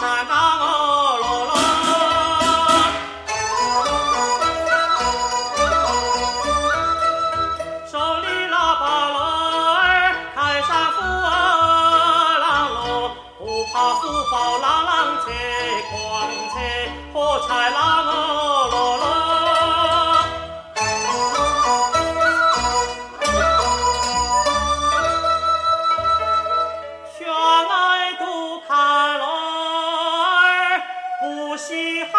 山岗哦喽喽。手里喇叭喽儿，开山斧儿啷喽，不怕斧包啷啷切，光切火柴啷哦喽喽。轩爱独看喽儿，不稀罕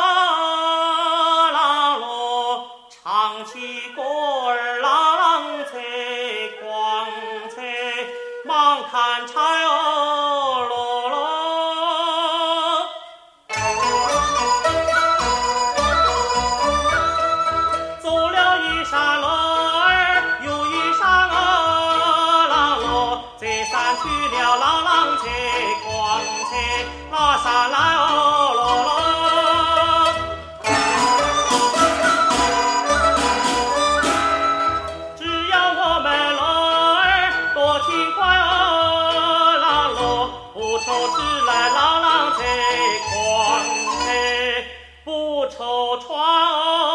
啷喽，唱起歌儿啷切，光切忙看柴哦喽喽。走了一山喽儿，又一山哦啷喽，这山去了啷啷切，光切那山来哦喽喽。只要我们喽儿多勤快哦啷喽，不愁吃来啷啷切，光切不愁穿哦。